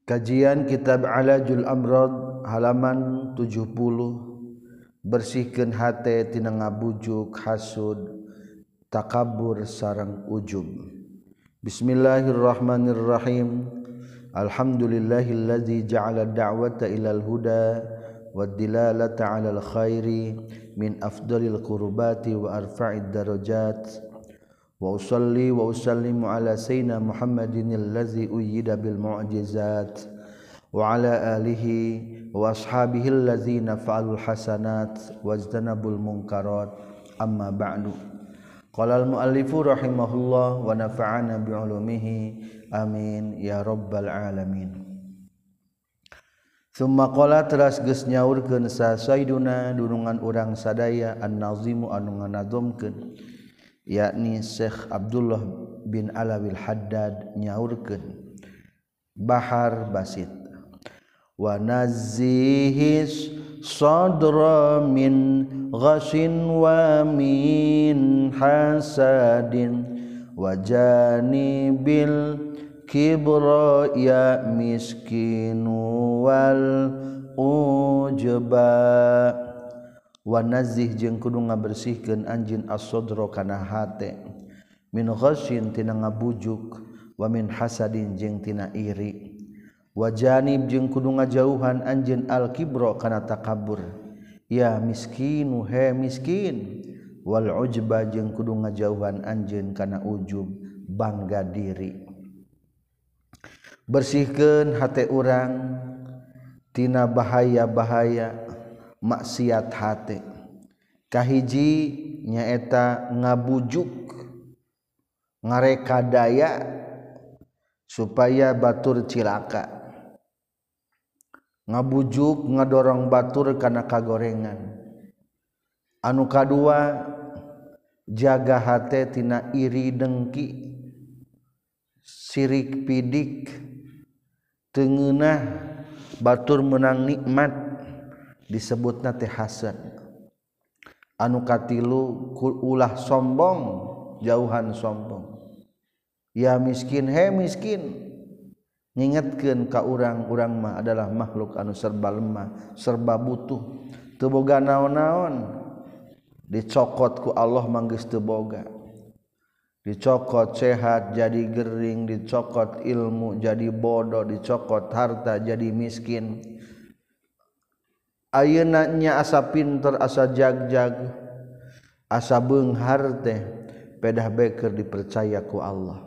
Kajian Kitab Alajul Amrad halaman 70. Bersihkeun hate tina ngabujuk, hasud, takabur sareng ujub. Bismillahirrahmanirrahim. Alhamdulillahillazi ja'ala ad-da'wata ilal huda wad dilalata 'alal khairi min afdalil qurbati wa arfa'id darajat. Wa usalli wa usallimu ala sayyidina Muhammadin allazi uyyida bil mu'jizat wa ala alihi wa ashabihi allazina fa'alul hasanat wajtanabul munkarat amma ba'du. Qala al muallifu rahimahullah wa nafa'ana bi ulumihi amin ya rabbal alamin. Summa qala teras geus nyaurkeun sa sayyiduna dunungan urang sadaya an-nazimu anu nganazomkeun yakni Syekh Abdullah bin Alawil Haddad nyaurkeun Bahar Basit wa nazihis sadra min ghashin wa min hasadin wa janibil kibra ya miskinu wal ujba. Wa nazih jeung kudu ngabersihkeun anjeun as-sadra kana hate min ghasyin tina ngabujuk wa min hasadin jeung tina iri wa janib jeung kudu ngajauhan anjeun al-kibra kana takabur ya miskinu he miskin wal ujba jeung kudu ngajauhan anjeun kana ujub bangga diri. Bersihkeun hate urang tina bahaya-bahaya maksiat hate. Kahiji nyaeta ngabujuk ngareka daya supaya batur cilaka, ngabujuk ngadorong batur kana kagorengan. Anu kadua jaga hate tina iri dengki, sirik pidik, teungeunah batur menang nikmat disebutna teh hasad. Anu katilu ulah sombong, jauhan sombong. Ya miskin he miskin, ngingetkeun ka urang-urang mah adalah makhluk anu serba lemah, serba butuh, teu boga naon-naon. Dicokot ku Allah mah geus teu boga. Dicokot sehat jadi gering, dicokot ilmu jadi bodoh, dicokot harta jadi miskin. Ayeuna nya asa pinter, asa jagjag, asa beunghar teh pedah beker dipercaya ku Allah.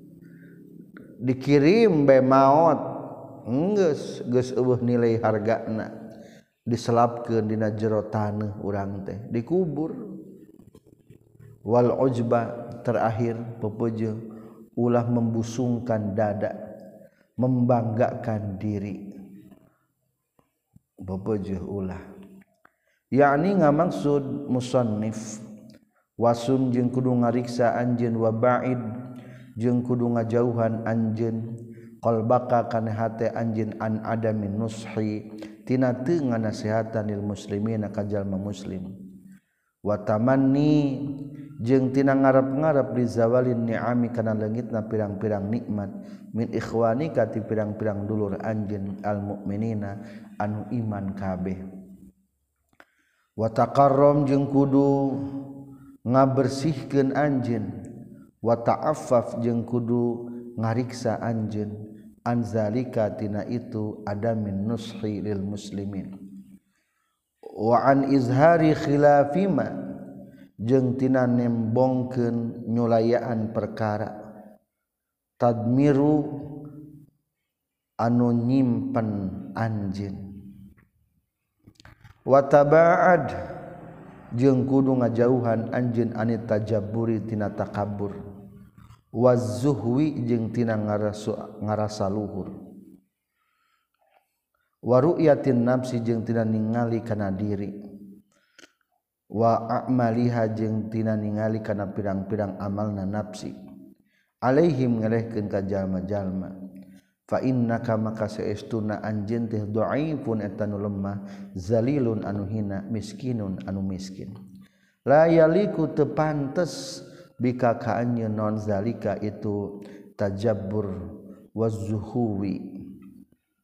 Dikirim be maot geus eueuh nilai hargana, diselapkeun dina jero taneuh urang teh dikubur. Wal ujba terakhir pepeujeuh ulah membusungkan dada, membanggakan diri. Bebeujeuh ulah yakni ngamaksud musannif wasum jeung kudu ngariksa anjeun wa ba'id jeung kudu ngajauhan anjeun qalbaka kana hate anjeun an adamin nushi tina teu nganasehatan lil muslimina ka jalma muslim wa tamanni jeung tina ngarep-ngarep di zawalin ni'ami kana leungitna pirang-pirang nikmat min ikhwanika ti pirang-pirang dulur anjeun al mukminina anu iman kabeh. Wa taqarrum jeung kudu ngabersihkeun anjeun wa ta'affaf jeung kudu ngariksa anjeun an zalika tina itu adamin nushi lil muslimin wa an izhari khilafima jeung tina nembongkeun nyulayaan perkara tadmiru anu nyimpen anjeun wa taba'ad jeung kudu ngajauhan anjeun anit tajabburi tina takabur wazuhwi jeung tina ngarasa luhur wa ru'yatin nafsi jeung tina ningali kana diri wa a'maliha jeung tina ningali kana pirang-pirang amalna nafsi alaihim ngelehkeun ka jalma-jalma fa innaka maka saestuna anjeun teh dhaifun eta nu lemah zalilun anu hina miskinun anu miskin la yaliku teu pantes bika ka anjeun non zalika itu tajabbur wazuhuwi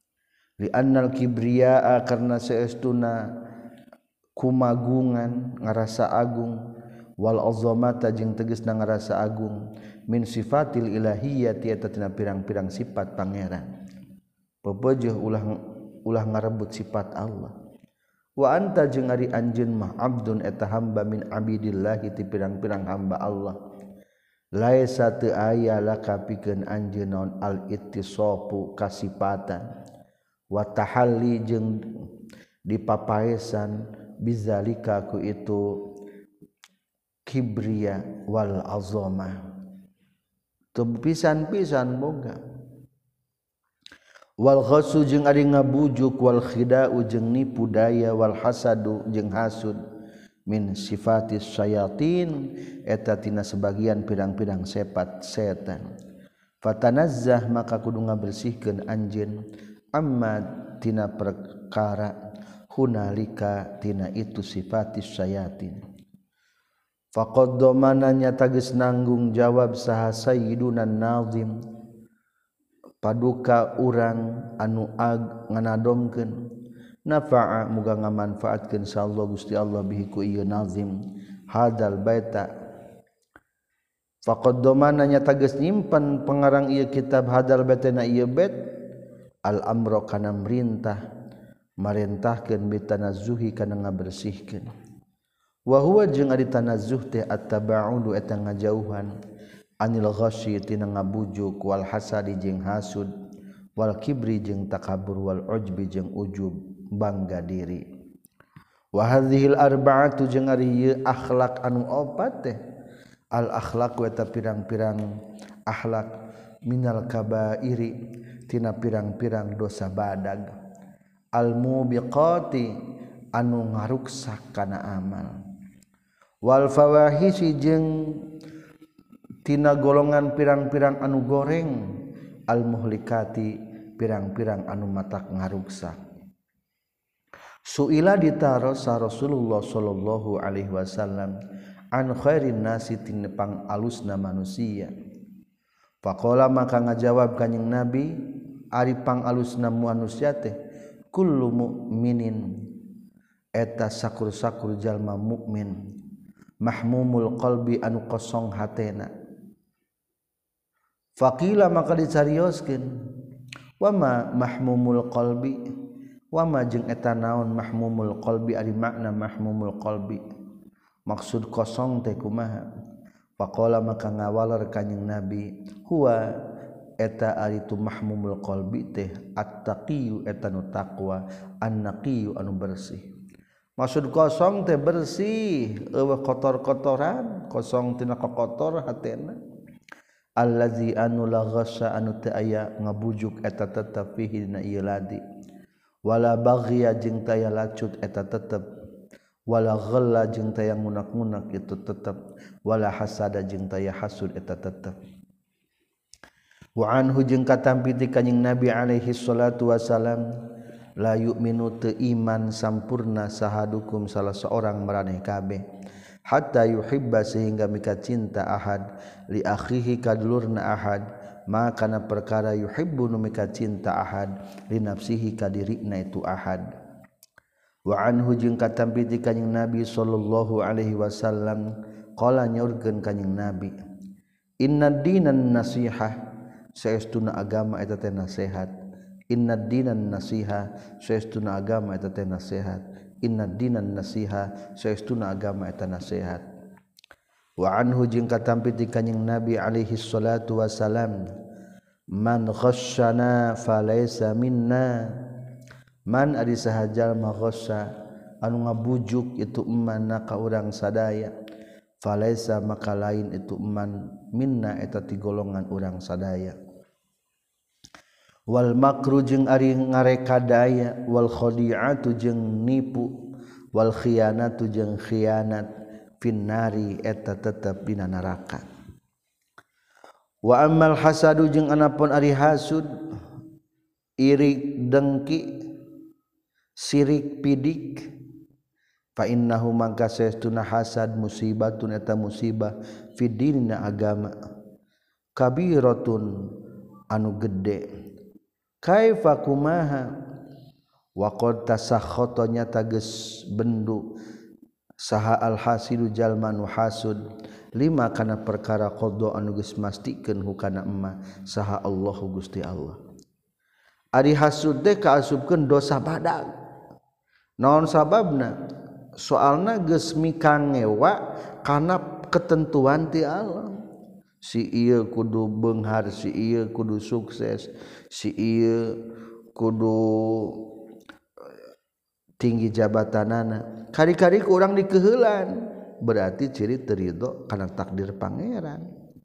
li annal kibriya karna saestuna kumagungan ngarasa agung wal azamata jeung tegasna ngarasa agung min sifatil ilahiyyati eta tina pirang-pirang sifat pangeran pepeueuh ulah ngarebut sifat Allah wa anta jeung ari anjeun mah abdun eta hamba min abidillah ti pirang-pirang hamba Allah laisa teu aya laka pikeun anjeun naon al ittisafu kasifatan wa tahalli jeung dipapaesan bizalika ku itu kibriya wal azamah teu pisan-pisan boga wal ghasu jeung ari ngabujuk wal khida'u jeung nipu daya wal hasadu jeung hasud min sifatis syayatin eta tina sebagian pirang-pirang sifat setan fatanazzah maka kudu ngabersihkeun anjeun amma tina perkara hunalika tina itu sifatis syayatin faqad domananya tagis nanggung jawab saha sayyidunan nazim paduka urang anu nganadomkeun nafa'a muga ngamanfaatkeun sallallahu Gusti Allah bihi ku ieu nazim hadal baita faqad domananya tagis nyimpen pengarang ieu kitab hadal baita na ieu bait al amro kana marintahkeun bitanazzuhi kana ngabersihkeun wa huwa jeung ari tanazzuh teh at-tabaudu eta ngajauhan anil ghasyi tina ngabujuk wal hasadi jeung hasud wal kibri jeung takabur wal ujbi jeung ujub bangga diri wa hadhil arba'atu jeung ari ieu akhlak anu opat teh al akhlaq eta pirang-pirang akhlak minal kabairi tina pirang-pirang dosa badag al mubiqati anu ngaruksak kana amal wal fawahisi jeung tina golongan pirang-pirang anu goreng al muhlikati pirang-pirang anu matak ngaruksak suila ditaros Rasulullah sallallahu alaihi wasallam an khairin nasi tina pang alusna manusia faqala maka ngajawab kanjing Nabi ari pang alusna manusia teh kullu mu'minin eta sakur-sakur jalma mukmin mahmumul qalbi anu kosong hatena faqila maka dicarioskeun wama mahmumul qalbi wama jeung eta naon mahmumul qalbi ari makna mahmumul qalbi maksud kosong teh kumaha faqala maka ngawalar kanjing Nabi huwa eta ari tu mahmumul qalbi teh at-taqiyyu eta nu taqwa an-naqiyyu anu bersih maksud kosong teh bersih eueuh kotor-kotoran kosong tina kotor hatena allazi anu la ghassa anu teu aya ngabujuk eta tetep fihi dina ieu ladi wala baghiya jeung teu aya lacut eta tetep wala ghalla jeung teu aya ngunak-ngunak itu tetep wala hasada jeung teu aya hasud eta tetep wa anhu jeung katampi ti kanjing Nabi alaihi salatu wasalam la yu'minu teu iman sampurna sahadukum salah seorang maraneh kabeh hatta yuhibba sehingga mika cinta ahad li akhihi kadulurna ahad maka kana perkara yuhibbu nu mika cinta ahad li nafsihi kadirina itu ahad wa anhu jeung katampi ti kanjing Nabi sallallahu alaihi wasallam qala nyaurkeun kanjing Nabi inna dinan nasihah saestuna agama eta teh nasihat inna dinan nasiha saestuna agama eta teh nasihat inna dinan nasiha saestuna agama eta nasihat wa anhu jeung katampi ti kanjing Nabi alaihi salatu wasalam man ghasyana falaysa minna man ari saha jalma ghassa anu ngabujuk itu emanna ka urang sadaya falaysa maka lain itu eman minna eta ti golongan urang sadaya wal makru jeung ari ngarekadaya wal khadi'atu jeung nipu wal khiyanatu jeung khianat finnari eta tetep dina neraka wa ammal hasadu jeung anapun ari hasud iri dengki sirik pidik fa innahu mangka saestuna hasad musibatun eta musibah fid dinina agama kabiratun anu gede kaifa kumaha wa qad tasakhotonya tages bendu saha al-hasidu jalma nu hasud lima kana perkara qada anu geus mastikeun hukana emma saha Allahu Gusti Allah. Ari hasud teh kaasupkeun dosa badag. Naon sababna? Soalna geus mikangewa kana ketentuan ti Allah. Si ieu kudu beunghar, si ieu kudu sukses, si ieu kudu tinggi jabatanana. Kari-kari ku urang dikeuheulan, berarti ciri teu ridho kana takdir pangeran.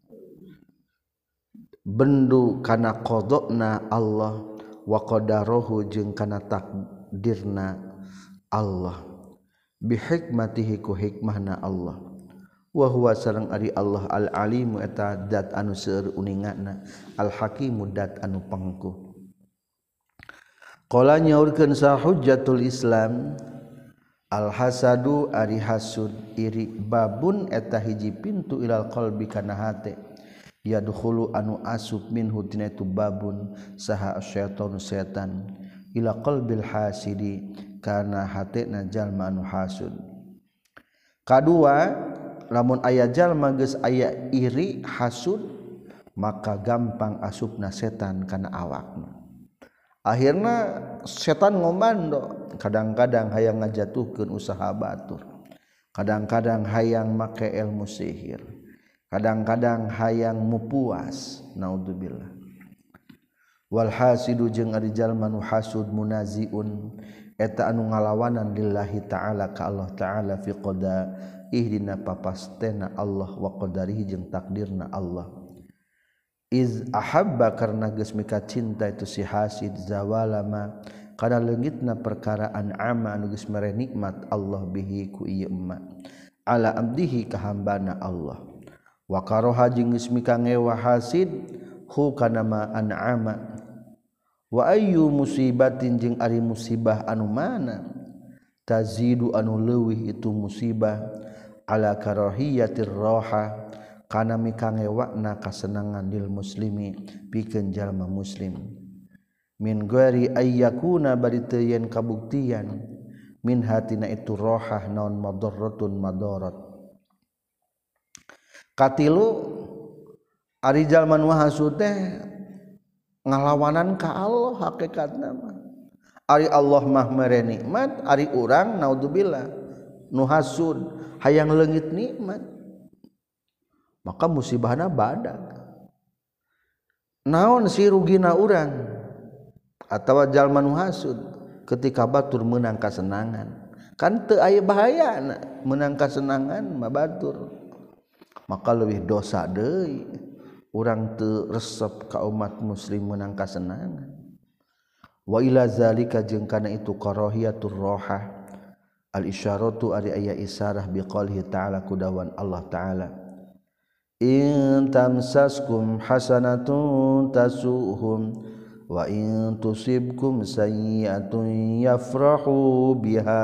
Bendu kana qadana Allah wa qadarahu jeung kana takdirna Allah bi hikmatihi ku hikmahna Allah wa huwa sareng ari Allah al alimu eta dat anu seueur uninganna al hakimu dat anu pangkuh. Qala nyaurkeun sa hujjatul Islam al hasadu ari hasud iri babun eta hiji pintu ilal qalbi kana hate yadkhulu anu asub minhu tina itu babun saha syaitanu setan ila qalbil hasidi kana hatena jalma anu hasud. Kadua lamun aya jalma geus aya iri hasud maka gampang asupna setan kana awakna. Akhirna setan ngomando, kadang-kadang hayang ngajatuhkeun usaha batur, kadang-kadang hayang make ilmu sihir, kadang-kadang hayang mupuas. Naudzubillah. Wal hasidu jeung ari jalma nu hasud munaziun eta anu ngalawanan lillahi ta'ala ka Allah ta'ala fi qada'ihi dina papastena Allah wa qadarihi jeung takdirna Allah. Iz ahabba karna geus mika cinta itu si hasid zawalama kana leungitna perkara an'ama anu geus mere nikmat Allah bihi ku ieu emma ala abdihi ka hambana Allah wa karaha jeung geus mika ngewa hasid hu kana ma an'ama wa ayyu musibatin jeung ari musibah anu mana tazidu anu leuwih itu musibah ala karahiyatir raha kana mikangewakna kasenangan lil muslimi pikeun jalma muslim min ghairi ayyakuna bari teu yen kabuktian min hatina itu rohah naon madarratun madarat. Katilu ari jalma nu hasud teh ngalawanan ka Allah hakikatna mah. Ari Allah mah mere nikmat, ari urang naudzubillah nu hasud hayang leungit nikmat. Maka musibahna badag. Naon si rugina urang atawa jalma nu hasud ketika batur meunang kasenangan. Kan teu aya bahayana meunang kasenangan mah batur. Maka leuwih dosa deui urang teu resep ka umat muslim meunang kasenangan. Wa ila zalika jeung kana itu karahiyatur rohah al isyaratu ari aya isarah biqaulhi ta'ala kudawan Allah ta'ala in tamsaskum hasanatun tasuhum wa in tusibkum sayyi'atun yafrahu biha.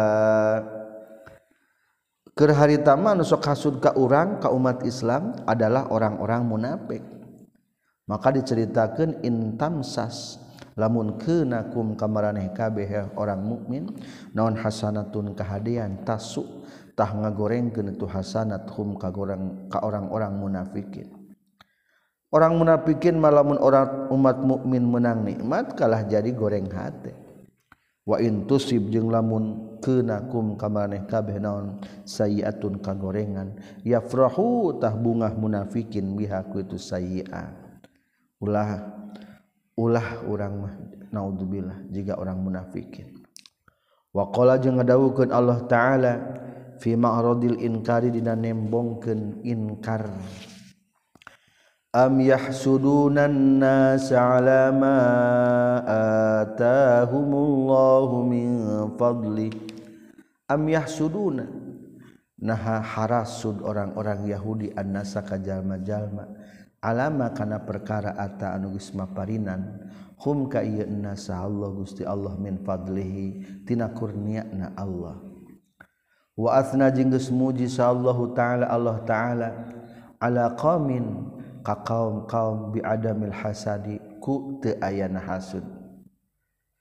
Keur harita mah nu sok hasud ka urang ka umat Islam adalah orang-orang munafik. Maka diceritakeun in tamsas lamun keunakum ka maraneh kabeh orang mukmin naon hasanatun kahadian tasu tah ngagorengkeun itu hasanat hum ka orang-orang munafikin. Orang munafikin malamun orang umat mukmin menang nikmat kalah jadi goreng hate. Wa in tusib jeung lamun keunakum ka maraneh kabeh naon sayyi'atun kagorengan yafrahu tah bungah munafikin biha ku itu sayyi'ah. Ulah urang mah naudzubillah jiga orang munafikin. Wa qala jeung ngadawukeun Allah taala fi ma'radil inkari dina nembongkeun inkar am yahsudunan nas ala ma atahumullahu min fadli am yahsuduna nah harasud orang-orang Yahudi annasa ka jalma-jalma alama kana perkara ata anu geus maparinan hum ka ieu nasa Allah Gusti Allah min fadlihi tina kurniana Allah wa athna jeung geus muji sallallahu taala Allah taala ala qaumin ka kaum-kaum bi adamil hasadi ku teu ayana hasud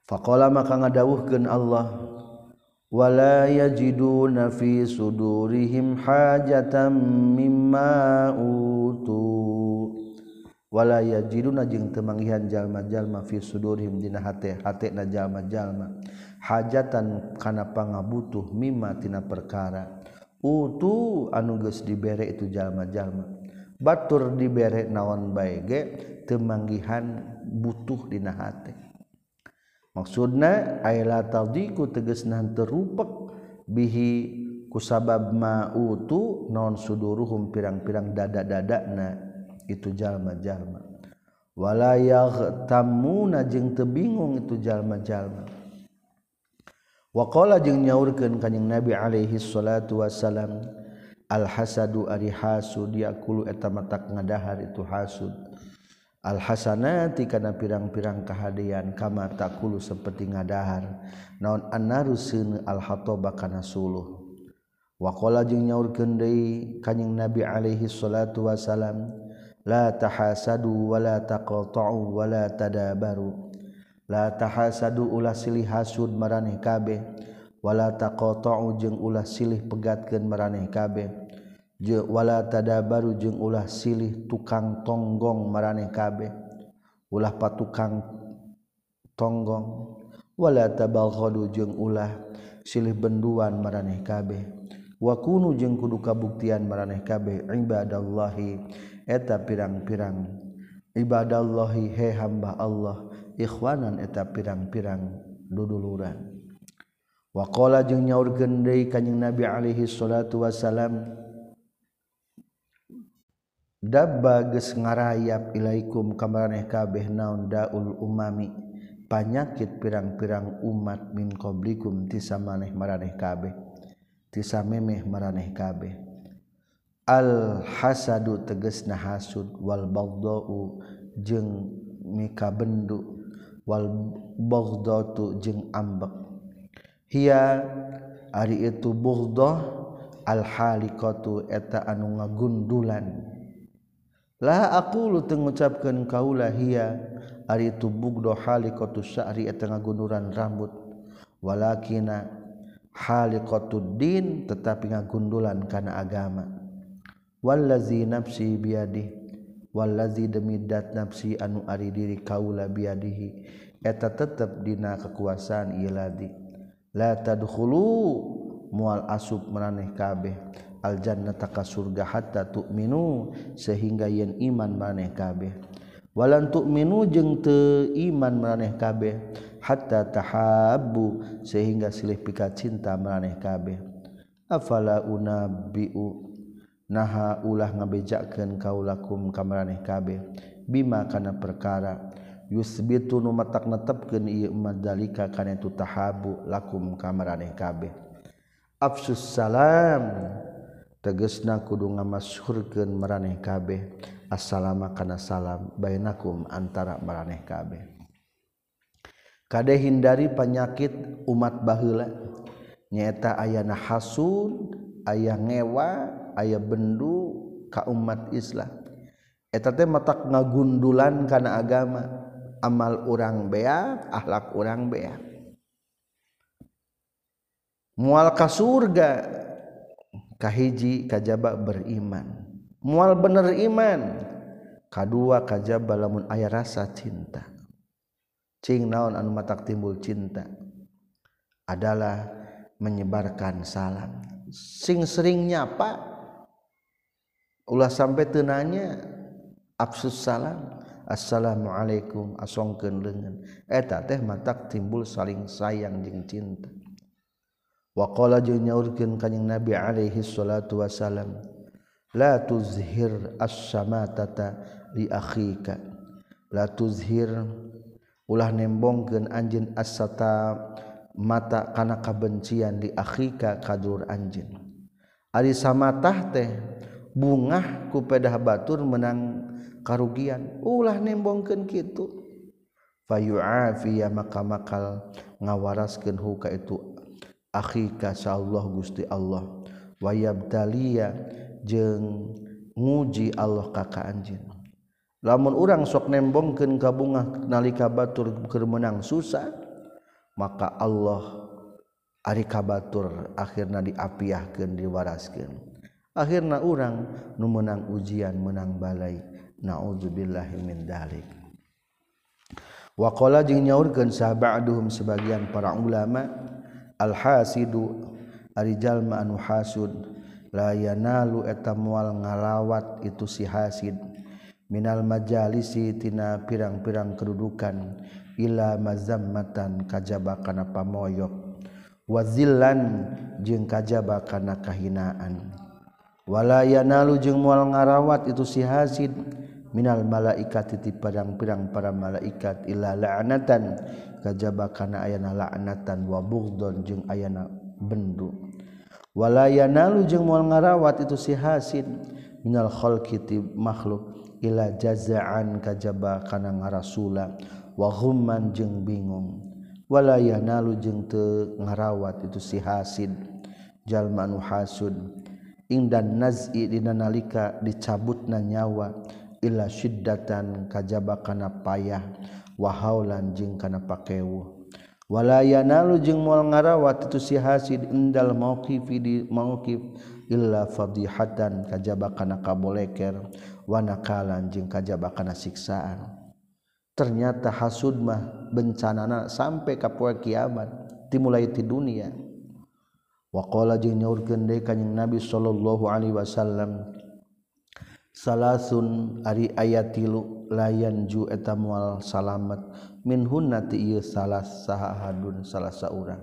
faqala maka ngadawuhkeun Allah wala yajiduna fi sudurihim hajatan mimma utu wala yajiduna jeung teu manggihan jalma-jalma fi sudurihim dina hate-hatena jalma-jalma hajatan kana pangabutuh mimma tina perkara utu anu geus dibere itu jalma-jalma batur dibere naon bae ge teu manggihan butuh dina hate maksudna ay la tadiku tegasna teu rupek bihi kusabab ma utu naon suduruhum pirang-pirang dada-dadana itu jalma-jalma wala yaghtamuna jeung teu bingung itu jalma-jalma waqala jeung nyaurkeun kanjing Nabi alaihi salatu wasalam al hasadu ari hasud yakulu eta matak ngadahar itu hasud al hasanati kana pirang-pirang kahadian kama takulu seperti ngadahar naon annaruseun al hataba kana suluh waqala jeung nyaurkeun deui kanjing Nabi alaihi salatu wasalam la tahasadu wala taqata'u wala tadabaru la tahasadu ulah silih hasud maraneh kabeh wala taqata'u jeung ulah silih pegatkeun maraneh kabeh wala tadabaru jeung ulah silih tukang tonggong maraneh kabeh ulah patukang tonggong wala tabaghadu jeung ulah silih benduan maraneh kabeh wa kunu jeung kudu kabuktian maraneh kabeh ibadallahi eta pirang-pirang ibadallahi he hamba Allah ikhwanan eta pirang-pirang duduluran wa qala jeung nyaurkeun deui kanjing Nabi alaihi salatu wasalam dabba geus ngarayap ilaikum kamaraneh kabeh naon daul umami panyakit pirang-pirang umat min qablikum ti samaneh maraneh kabeh ti samemeh maraneh kabeh al hasadu tegasna hasud wal baghdau jeung mika bendu wal baghdatu jeung ambek hiya ari itu bughdah al halikatu eta anu ngagundulan la aqulu teu ngucapkeun kaula hiya ari itu bughdah halikatu sya'ri eta ngagunduran rambut walakina halikatud din tetapi ngagundulan kana agama wallazi nafsi biadih wallazi demi dat nafsi anu ari diri kaula biadihi eta tetep dina kekuasaan ieu ladi la tadkhulu mual asub maraneh kabeh al jannata ka surga hatta tu'minu sehingga yen iman maraneh kabeh walan tu'minu jeung teu iman maraneh kabeh hatta tahabbu sehingga silih pika cinta maraneh kabeh afala unabbiu naha ulah ngabejakeun kaulakum kamaraneh kabeh bima kana perkara yusbitu nu matak netepkeun ieu madzalika kana tu tahabu lakum kamaraneh kabeh afsus salam tegasna kudu ngamasyhurkeun maraneh kabeh assalamu kana salam bainakum antara maraneh kabeh kade hindari penyakit umat baheula nyaeta ayana hasud aya ngewa aya bendu ka umat Islam eta teh matak ngagundulan kana agama amal urang beak akhlak urang beak moal ka surga kahiji kajaba beriman moal bener iman kadua kajaba lamun aya rasa cinta cing naon anu matak timbul cinta adalah menyebarkan salam sing sering nyapa ulah sampai teu nanya afsus salam assalamualaikum asongkeun leungeun eta teh matak timbul saling sayang jeung cinta wa qala jeung nyaurkeun kanjing Nabi alaihi salatu wasalam la tuzhir as-samatata li akhika la tuzhir ulah nembongkeun anjeun as-sata mata kana kabencian li akhika kadur anjeun ari samatah teh bungah ku pedah batur menang karugian ulah nembongkeun kitu fayu'afiya maka makal ngawaraskeun hu ka itu akhika sallallahu Gusti Allah wa yabtaliya jeung nguji Allah ka anjeun lamun urang sok nembongkeun ka bungah nalika batur keur menang susah maka Allah ari kabatur akhirna diapiahkeun diwaraskeun akhirna urang nu menang ujian menang balai naudzubillahi min dzalik wa qala jeung nyaurkeun sahabaduhum sebagian para ulama al hasidu ari jalma anu hasud la yanalu eta moal ngalawat itu si hasid minal majalisi tina pirang-pirang kedudukan ila mazammatan kajaba kana pamoyok wazillan jeung kajaba kana kahinaan wala yanalu jeung moal ngarawat itu si hasid minal malaikati ti pirang-pirang para malaikat illa la'natan kajaba kana ayana la'natan wa bughdon jeung ayana bendu wala yanalu jeung moal ngarawat itu si hasid minal khalqi ti makhluk ila jazaan kajaba kana ngarasula wa ghumman jeung bingung wala yanalu jeung teu ngarawat itu si hasid jalma anu hasud indan naz'i dina nalika dicabutna nyawa illa syiddatan kajaba kana payah wa haulan jeung kana pakeuh wala yanalu jeung moal ngarawat itu si hasid indal mauqifi di mauqif illa fadihatan kajaba kana kaboleker wa nakalan jeung kajaba kana siksaan ternyata hasud mah bencanana sampai ka poe kiamat dimulai ti dunia wa qala jeung nyaurkeun deui kanjing Nabi sallallahu alaihi wasallam salasun ari ayat 3 layan ju eta moal salamet minhunna ti ieu salas sahahadun salah saurang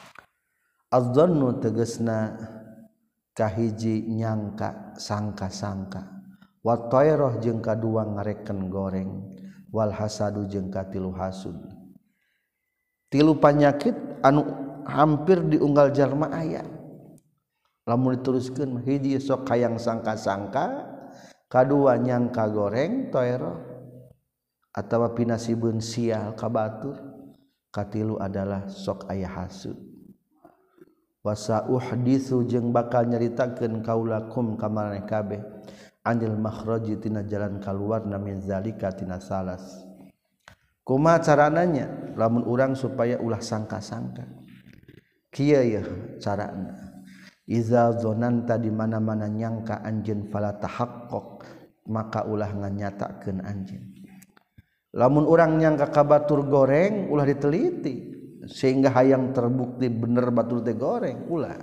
azzannu tegasna kahiji nyangka sangka-sangka wa tayrah jeung kadua ngareken goreng wal hasadu jeung katilu hasud tilu panyakit anu hampir diunggal jalma aya lamun diteruskeun hiji sok hayang sangka-sangka kadua nyangka goreng tayrah atawa pinasibun sial kabatur katilu adalah sok aya hasud wasa uhditsu jeung bakal nyaritakeun kaulakum ka maraneh kabeh anil makhraji tina jalan kaluarna min zalika tina salas kumaha carananya lamun urang supaya ulah sangka-sangka kieu ya carana iza zonanta di mana-mana nyangka anjeun fala tahaqqaq maka ulah nganyatakeun anjeun lamun urang nyangka ka batur goreng ulah diteliti sehingga hayang terbukti bener batur teh goreng ulah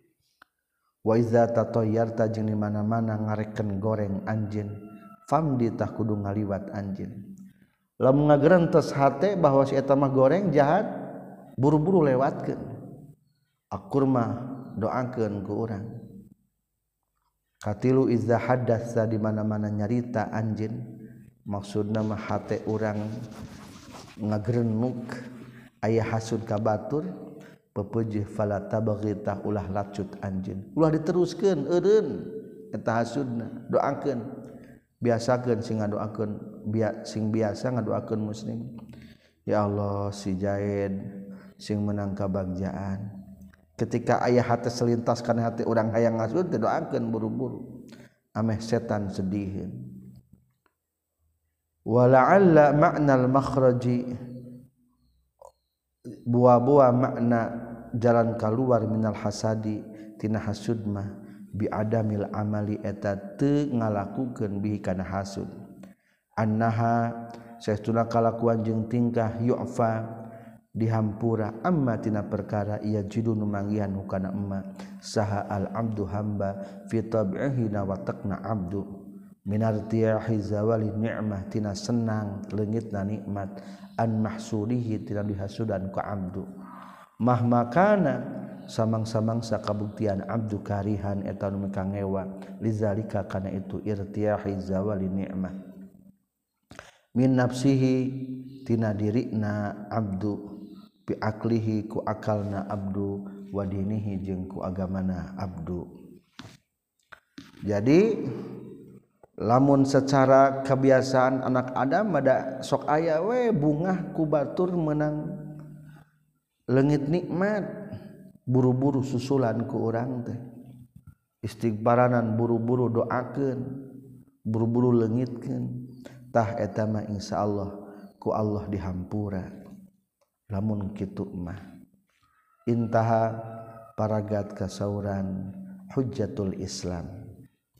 wa iza tatayyarta jeung di mana-mana ngareken goreng anjeun famdi tah kudu ngaliwat anjeun lamun ngagerentos hate bahwa si eta mah goreng jahat buru-buru lewatkeun akur mah doakeun ku urang katilu iza haddatsa di mana-mana nyarita anjeun maksudna mah hate urang ngagerenuk aya hasud ka batur pepeujeih fala tabghita ulah lacut anjeun ulah diteruskeun eureun eta hasudna doakeun biasakeun sing ngadoakeun sing biasa ngadoakeun muslim ya Allah si Jaid sing menang kabagjaan ketika aya hate selintas kana hati urang hayang ngasud doakeun buru-buru ameh setan sedihieun wala'alla ma'nal makhraji buah-buah makna jalan keluar minal hasadi tina hasud mah bi adamil amali eta teu ngalakukeun bihi kana hasud annaha saestuna kalakuan jeung tingkah yu'fa dihampura amma tina perkara ia jidu nu manggihan hukana emma saha al abdu hamba fi tab'ihi na watakna abdu minartiyahi zawali ni'mah tina senang leungitna nikmat an mahsurihi tina dihasudan ku abdu mahmakana samang-samang sakabuktian abdu karihan eta nu kangewa lizalika kana itu irtiyahi zawali ni'mah min nafsihi tina dirina abdu bi aklihi ku akalna abdu wa dinihi jeung ku agamana abdu jadi lamun secara kebiasaan anak Adam ada sok aya we bungah ku batur menang leungit nikmat buru-buru susulan ku urang teh istighfaranan buru-buru doakeun buru-buru leungitkeun tah eta mah insyaallah ku Allah dihampura lamun kitu mah intaha paragat kasauran hujjatul Islam